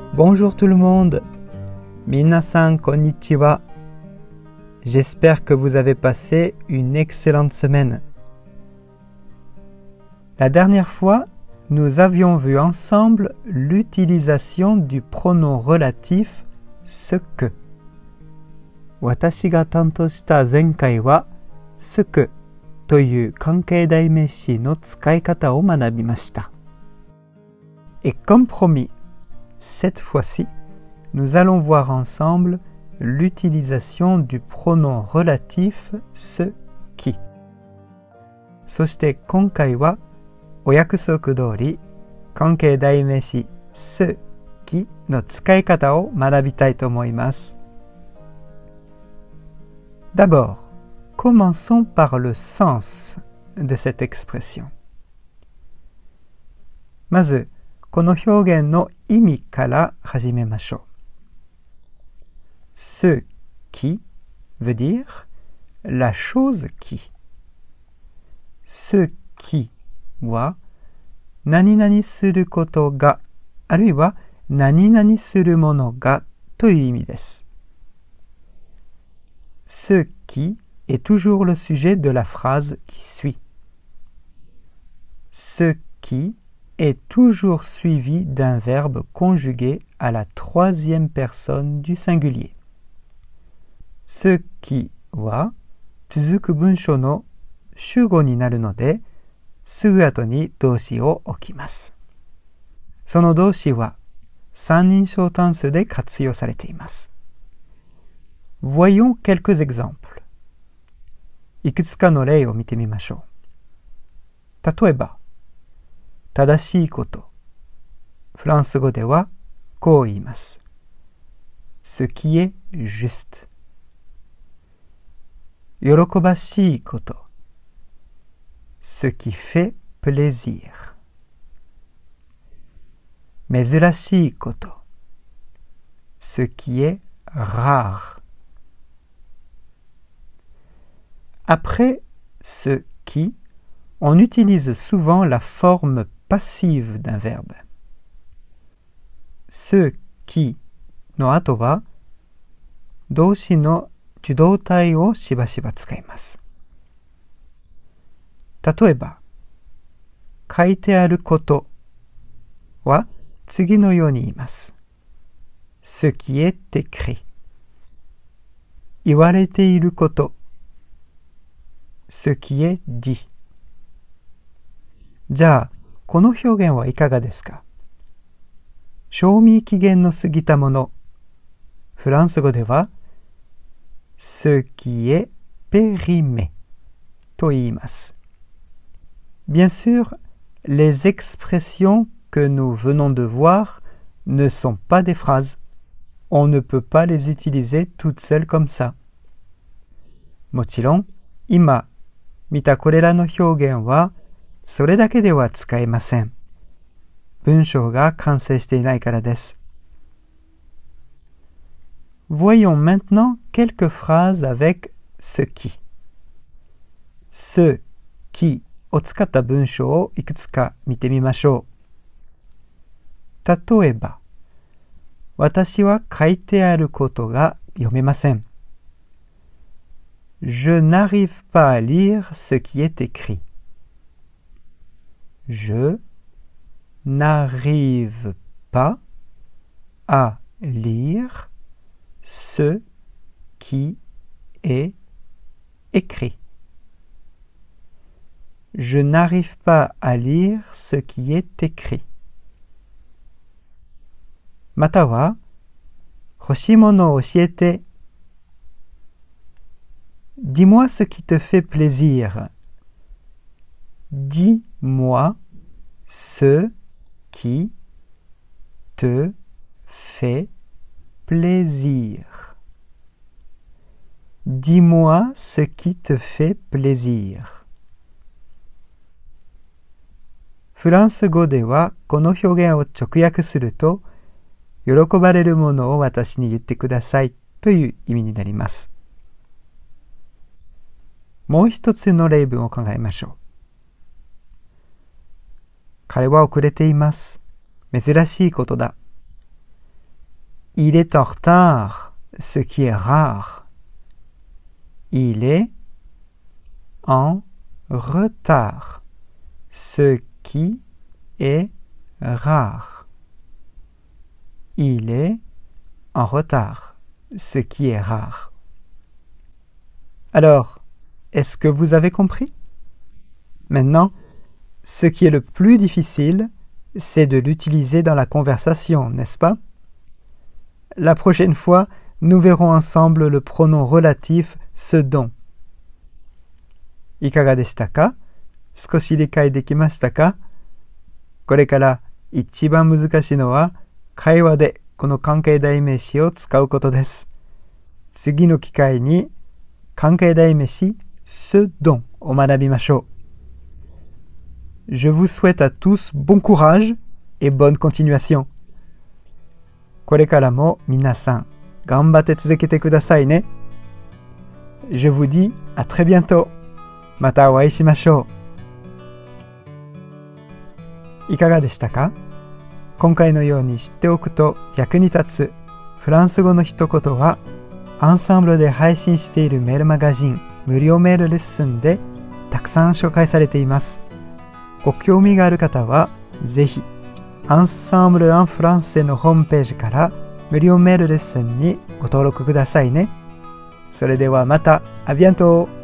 Bonjour tout le monde. Minasan konnichiwa. J'espère que vous avez passé une excellente semaine. La dernière fois, nous avions vu ensemble l'utilisation du pronom relatif ce que. Watashi ga tanto shita zenkai wa ce que という関係代名詞の使い方を学びました。Et comme promis, cette fois-ci, nous allons voir ensemble l'utilisation du pronom relatif ce qui. そして今回はお約束通り関係代名詞ce quiの使い方を学びたいと思います。D'abord, commençons par le sens de cette expression. まず、この表現の意味から始めましょう。Ce qui veut dire la chose qui. Ce qui は何々することが、あるいは何々するものがという意味です。Ce qui est toujours le sujet de la phrase qui suit. Ce qui est toujours suivi d'un verbe conjugué à la troisième personne du singulier. ce qui は続く文章の主語になるので、すぐ後に動詞を置きます。その動詞は三人称単数で活用されています。Voyons quelques exemples. いくつかの例を見てみましょう。例えば、正しいこと。フランス語ではこう言います。Ce qui est juste. 喜ばしいこと。Ce qui fait plaisir. 珍しいこと。Ce qui est rare. Après ce qui, on utilise souvent la forme passive d'un verbe. ce qui の後は動詞の受動体をしばしば使います。例えば、書いてあることは次のように言います。ce qui est écrit。言われていること。ce qui est dit。じゃあ、この表現はいかがですか？賞味期限の過ぎたもの。フランス語では、ce qui est périmé と言います。Bien sûr, les expressions que nous venons de voir ne sont pas des phrases. On ne peut pas les utiliser toutes seules comme ça. もちろん、今見たこれらの表現は、それだけでは使えません。文章が完成していないからです。Voyons maintenant quelques phrases avec ce qui. ce qui を使った文章をいくつか見てみましょう。例えば、私は書いてあることが読めません。Je n'arrive pas à lire ce qui est écrit. Je n'arrive pas à lire ce qui est écrit. Je n'arrive pas à lire ce qui est écrit. または、欲しいものを教えて。Dis-moi ce qui te fait plaisir. Dis-moi ce qui te fait plaisir. Dis-moi ce qui te fait plaisir. フランス語ではこの表現を直訳すると、喜ばれるものを私に言ってくださいという意味になります。もう一つの例文を考えましょう。彼は遅れています。珍しいことだ。 Il est en retard, ce qui est rare. Il est en retard, ce qui est rare. Il est en retard, ce qui est rare. Alors, est-ce que vous avez compris? Maintenant, ce qui est le plus difficile, c'est de l'utiliser dans la conversation, n'est-ce pas? La prochaine fois, nous verrons ensemble le pronom relatif ce dont. いかがでしたか？少し理解できましたか？これから一番難しいのは会話でこの関係代名詞を使うことです。次の機会に関係代名詞ce dontを学びましょう。Je vous souhaite à tous bon courage et bonne continuation. これからも皆さん頑張って続けてくださいね。Je vous dis à très bientôt. またお会いしましょう。いかがでしたか？今回のように知っておくと役に立つフランス語の一言はアンサンブルで配信しているメールマガジン無料メールレッスンでたくさん紹介されています。ご興味がある方はぜひアンサンブル・アン・フランセのホームページから無料メールレッスンにご登録くださいね。それではまた、アビアント。